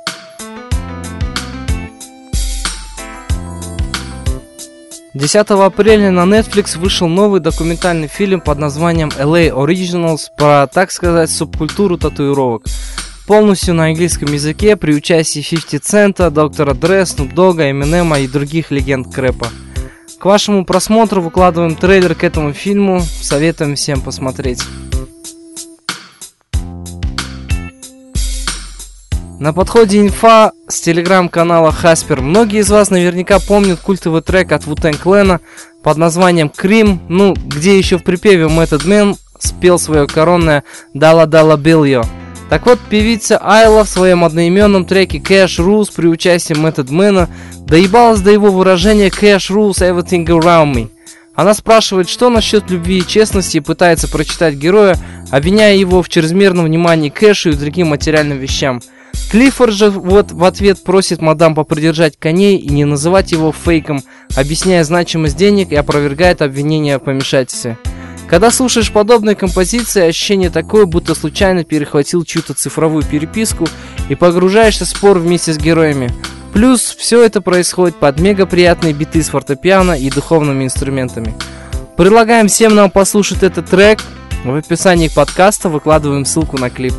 10 апреля на Netflix вышел новый документальный фильм под названием LA Originals про, так сказать, субкультуру татуировок. Полностью на английском языке при участии 50 Цента, Доктора Дре, Snoop Dogg, Эминема и других легенд крэпа. К вашему просмотру выкладываем трейлер к этому фильму, советуем всем посмотреть. На подходе инфа с телеграм-канала Хаспер. Многие из вас наверняка помнят культовый трек от Wu-Tang Clan под названием Cream, где еще в припеве Method Man спел свое коронное «Dollar Dollar Bill». Так вот, певица Айла в своем одноименном треке Cash Rules при участии Method Man доебалась до его выражения Cash Rules Everything Around Me. Она спрашивает, что насчет любви и честности, и пытается прочитать героя, обвиняя его в чрезмерном внимании к кэшу и другим материальным вещам. Клиффорд же в ответ просит мадам попридержать коней и не называть его фейком, объясняя значимость денег и опровергает обвинения в помешательстве. Когда слушаешь подобные композиции, ощущение такое, будто случайно перехватил чью-то цифровую переписку и погружаешься в спор вместе с героями. Плюс все это происходит под мега приятные биты с фортепиано и духовными инструментами. Предлагаем всем нам послушать этот трек. В описании подкаста выкладываем ссылку на клип.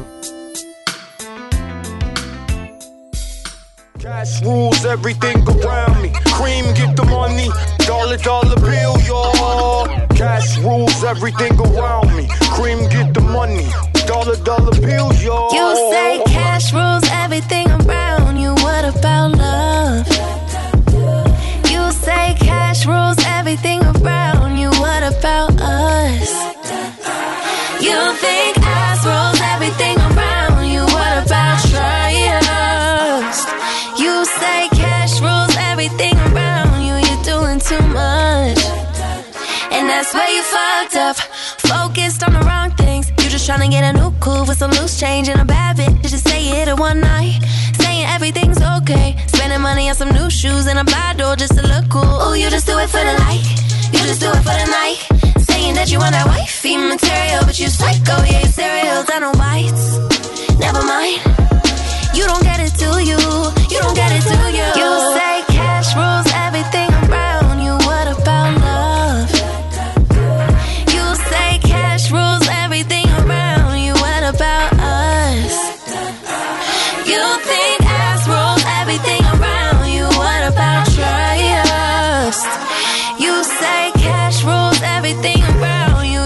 Cash rules everything around me. Cream, get the money. Dollar, dollar bill, y'all. Cash rules everything around me. Cream, get the money. Dollar, dollar bill, y'all. You say cash rules everything around you. What about love? You say cash rules everything around you. What about us? You think ass rules everything around you. What about trust? You say cash rules everything around you. You're doing too much, and that's where you fucked up. Focused on the wrong things. You just tryna get a new coupe with some loose change and a bad bitch. Just say it in one night, saying everything's okay. Spending money on some new shoes and a bottle just to look cool. Ooh, you just do it for the light. You just do it for the night. Saying that you want that wifey material, but you psycho, yeah, you cereal down on whites. Never mind. You don't get it, do you? You don't get it, do you? You say cash rules everything around you. What about love? You say cash rules everything around you. What about us? You think ass rules everything around you. What about trust? You say cash rules everything around you.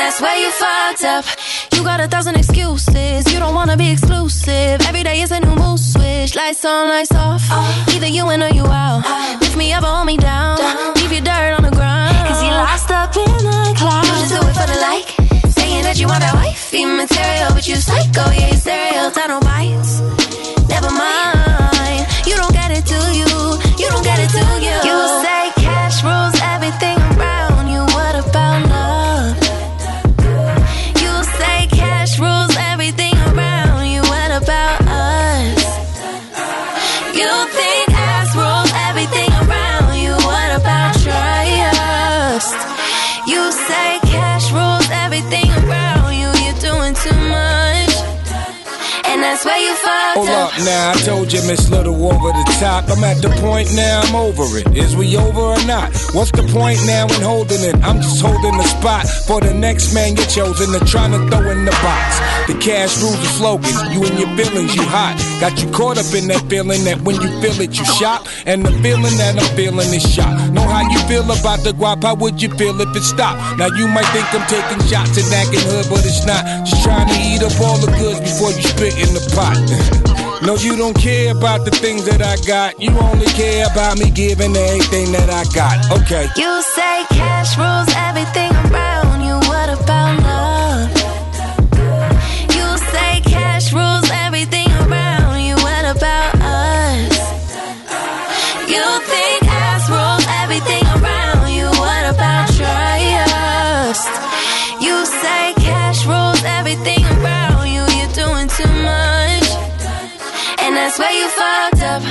that's where you fucked up. You got 1,000 excuses, you don't wanna be exclusive. Every day is a new mood switch, lights on, lights off. Either you in or you out. Lift me up or hold me down. Leave your dirt on the ground. Cause you lost up in the clouds. You just do it for the like. Saying that you want that wifey material, but you psycho, yeah, you stereo, time no bites. Never mind, you don't get it, do you? You don't get it, do you? You say cash rules everything around you. What about love? You say cash rules everything around you. What about us? You think ass rules everything around you. What about trust? You say cash rules everything around you. You're doing too much, and that's where you fucked Hold up. up now, I told you Miss Little over the top. I'm at the point now, I'm over it. Is we over or not? What's the point now in holding it? I'm just holding the spot for the next man you're chosen to trying to throw in the box. The cash rules the slogan, you and your feelings, you hot. Got you caught up in that feeling that when you feel it, you shop. And the feeling that I'm feeling is shock. Know how you feel about the guap, how would you feel if it stopped? Now you might think I'm taking shots and acting hood, but it's not. Just trying to eat up all the goods before you spit in the pot. No, you don't care about the things that I got. You only care about me giving everything that I got. Okay. You say cash rules everything around you. What about love? You say cash rules everything around you. What about us? You think ass rules everything around you. What about trust? You say cash rules everything around you. You're doing too much, and that's where you fucked up.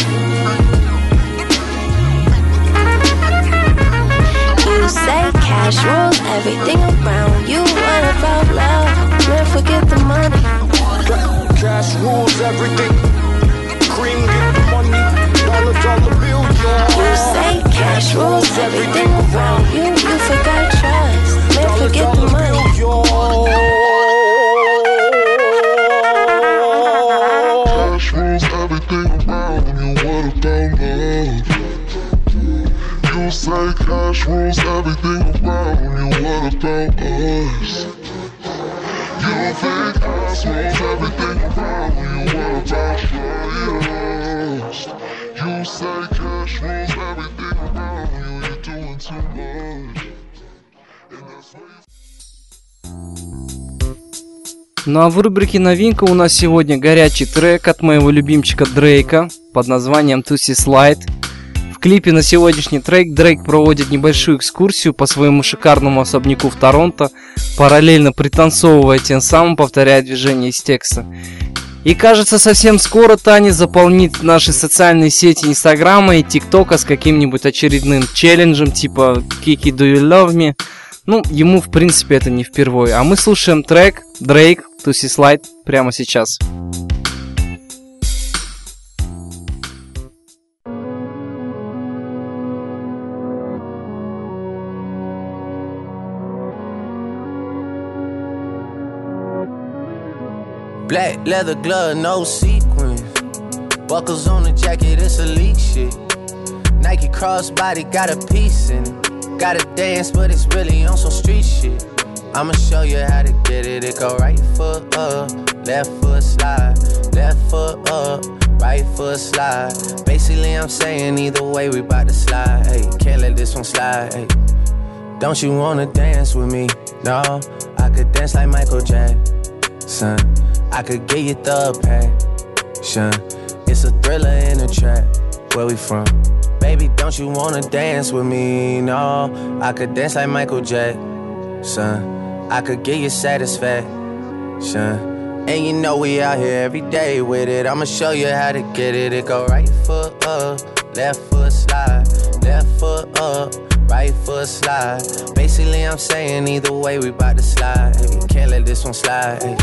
You say cash rules everything around you. What about love? Never forget the money. Cash rules everything. Cream get the money. Dollar bill, yeah. You say cash rules everything around you. You forgot trust. Never forget the money. Cash rules everything around you. What about love? You say cash rules everything around you. What about us? You think ass rules everything around you. What about trust? You say cash rules everything around you. You're doing too much. And that's why Ну а в рубрике «Новинка» у нас сегодня горячий трек от моего любимчика Дрейка под названием Tootsie Slide. В клипе на сегодняшний трек Дрейк проводит небольшую экскурсию по своему шикарному особняку в Торонто, параллельно пританцовывая, тем самым повторяя движения из текста. И кажется, совсем скоро Таня заполнит наши социальные сети Инстаграма и ТикТока с каким-нибудь очередным челленджем типа «Kiki, do you love me?». Ну, ему, в принципе, это не впервые. А мы слушаем трек Drake Tootsie Slide прямо сейчас. Black leather glove, no sequins. Buckles on the jacket, it's elite shit. Nike crossbody got a piece in it. Gotta dance, but it's really on some street shit. I'ma show you how to get it. It go right foot up, left foot slide. Left foot up, right foot slide. Basically, I'm saying either way, we bout to slide. Hey, can't let this one slide. Hey. Don't you wanna dance with me? No, I could dance like Michael Jackson. I could get you the passion. It's a thriller in a trap. Where we from? Baby, don't you wanna dance with me? No, I could dance like Michael Jackson. I could get you satisfaction. And you know we out here every day with it. I'ma show you how to get it. It go right foot up, left foot slide. Left foot up, right foot slide. Basically, I'm saying either way, we bout to slide. Hey, can't let this one slide. Hey.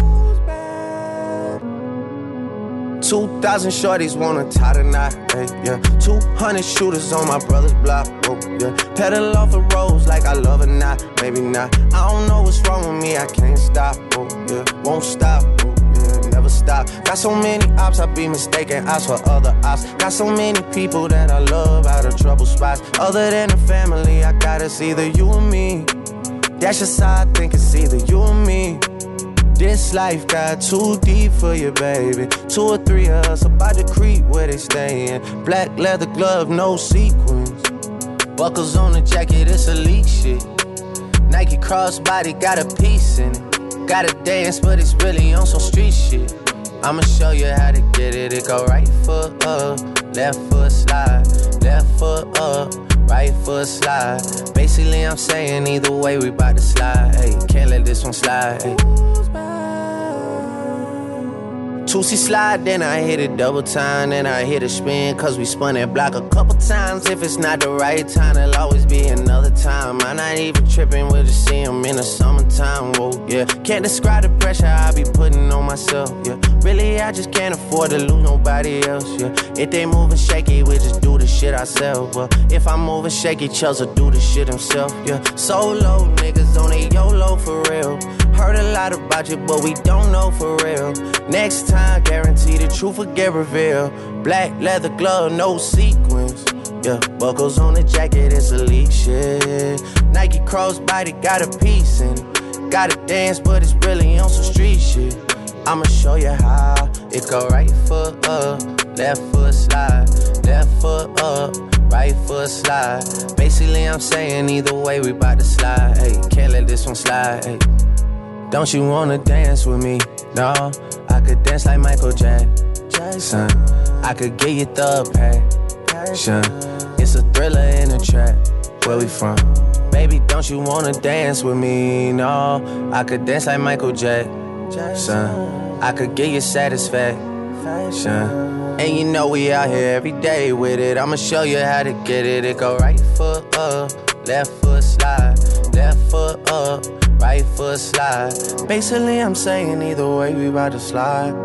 2,000 shorties wanna tie the knot, hey, yeah. 200 shooters on my brother's block, oh, yeah. Pedal off the roads like I love it, not, maybe not. I don't know what's wrong with me, I can't stop, oh, yeah. Won't stop, oh, yeah, never stop. Got so many ops, I be mistaken ops for other ops. Got so many people that I love out of trouble spots. Other than the family, I got it's either you or me. That's just how I think it's either you or me. This life got too deep for you, baby. 2 or 3 of us about to creep where they stayin'. Black leather glove, no sequins. Buckles on the jacket, it's elite shit. Nike crossbody got a piece in it. Gotta dance, but it's really on some street shit. I'ma show you how to get it. It go right foot up, left foot slide. Left foot up, right foot slide. Basically, I'm saying either way, we bout to slide. Hey, can't let this one slide. Hey. 2C slide, then I hit it double time. Then I hit a spin, cause we spun that block a couple times. If it's not the right time, it'll always be another time. I'm not even tripping, we'll just see him in the summertime. Whoa, yeah. Can't describe the pressure I be putting on myself, yeah. Really, I just can't afford to lose nobody else, yeah. If they moving shaky, we just do the shit ourselves. Well, if I'm moving shaky, Chubbs will do the shit himself, yeah. Solo niggas on a YOLO for real. Heard a lot about you, but we don't know for real. Next time, guarantee the truth will get revealed. Black leather glove, no sequins. Yeah, buckles on the jacket, it's elite shit. Nike crossbody got a piece in it. Gotta dance, but it's really on some street shit. I'ma show you how. It go right foot up, left foot slide. Left foot up, right foot slide. Basically, I'm saying either way, we bout to slide. Hey, can't let this one slide. Hey. Don't you wanna dance with me? No, I could dance like Michael Jackson. I could get you the passion. It's a thriller in a trap. Where we from? Baby, don't you wanna dance with me? No, I could dance like Michael Jackson. I could get you satisfaction. And you know we out here every day with it. I'ma show you how to get it. It go right foot up, left foot slide. Left foot up, right foot slide. Basically, I'm saying either way, we bout to slide.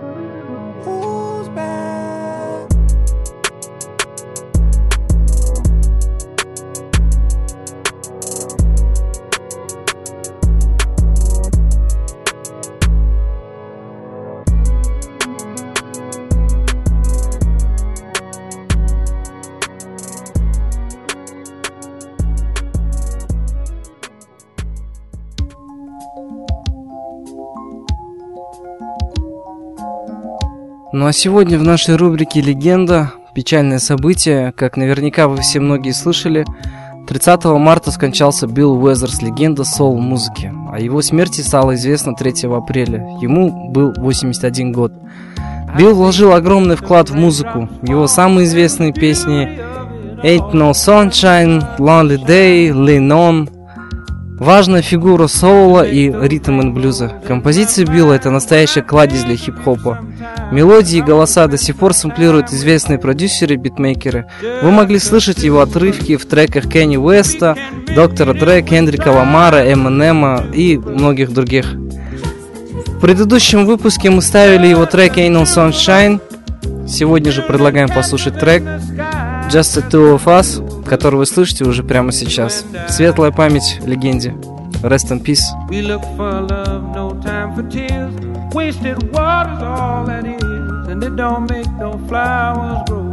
Ну а сегодня в нашей рубрике «Легенда» печальное событие, как наверняка вы все многие слышали. 30 марта скончался Билл Уэзерс, легенда соул-музыки. О его смерти стало известно 3 апреля. Ему был 81 год. Билл вложил огромный вклад в музыку. Его самые известные песни «Ain't No Sunshine», «Lonely Day», «Lean On». Важная фигура соула и ритм-н-блюза. Композиции Билла — это настоящая кладезь для хип-хопа. Мелодии и голоса до сих пор сэмплируют известные продюсеры и битмейкеры. Вы могли слышать его отрывки в треках Кенни Уэста, Доктора Дре, Кендрика Ламара, Эминема и многих других. В предыдущем выпуске мы ставили его трек Ain't No Sunshine. Сегодня же предлагаем послушать трек Just the Two of Us, который вы слышите уже прямо сейчас. Светлая память легенде. Rest in peace. We look for love, no time for tears. Wasted water's all that is, and it don't make no flowers grow.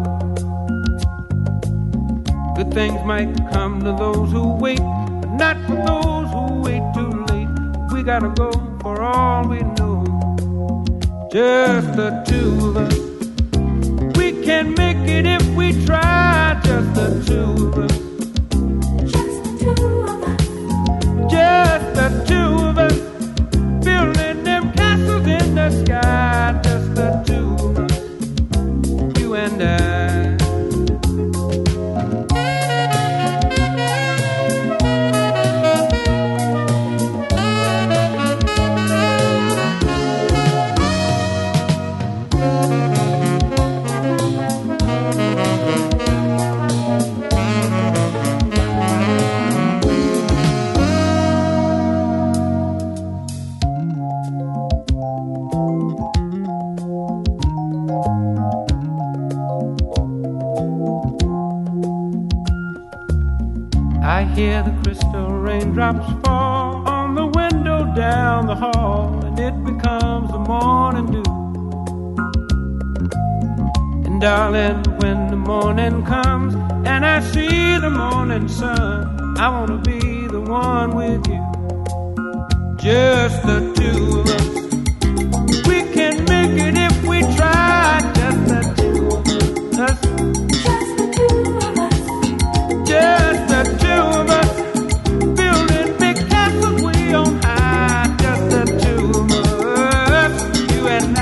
Good things might come to those who wait, but not for those who wait too late. We gotta go for all we know. Just the two of us. We can make it if we try. Just the two of us. Just the two of us. Building them castles in the sky. Just the two of us. You and I. I hear the crystal raindrops fall on the window down the hall, and it becomes the morning dew. And darling, when the morning comes and I see the morning sun, I wanna be the one with you, just the two of us. We can make it if we try, just the two of us. Just the two of us, building big castles way on high, just the two of us, you and I.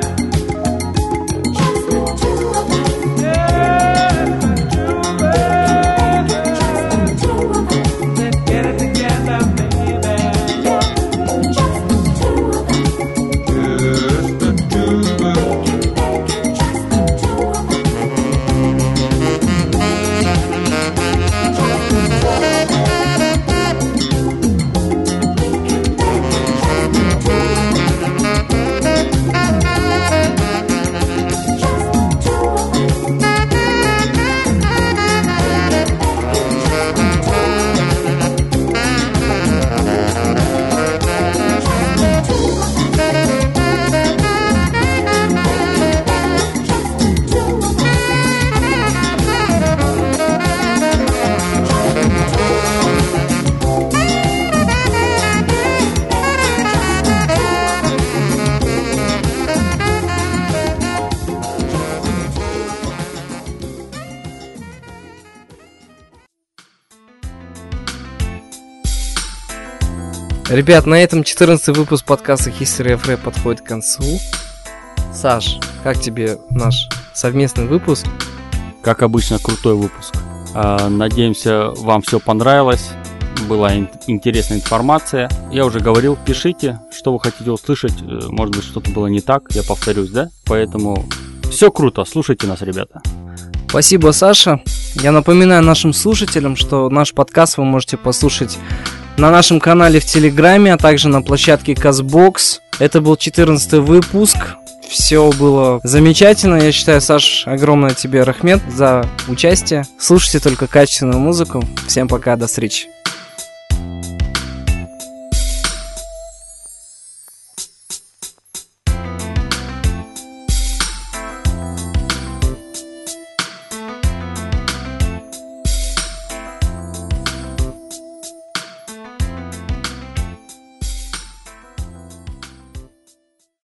Ребят, на этом 14-й выпуск подкаста History of Rap подходит к концу. Саш, как тебе наш совместный выпуск? Как обычно, крутой выпуск. Надеемся, вам все понравилось. Была интересная информация. Я уже говорил, пишите, что вы хотите услышать. Может быть, что-то было не так, я повторюсь, да? Поэтому все круто, слушайте нас, ребята. Спасибо, Саша. Я напоминаю нашим слушателям, что наш подкаст вы можете послушать на нашем канале в Телеграме, а также на площадке Castbox. Это был 14-й выпуск. Все было замечательно. Я считаю, Саш, огромное тебе рахмет за участие. Слушайте только качественную музыку. Всем пока, до встречи.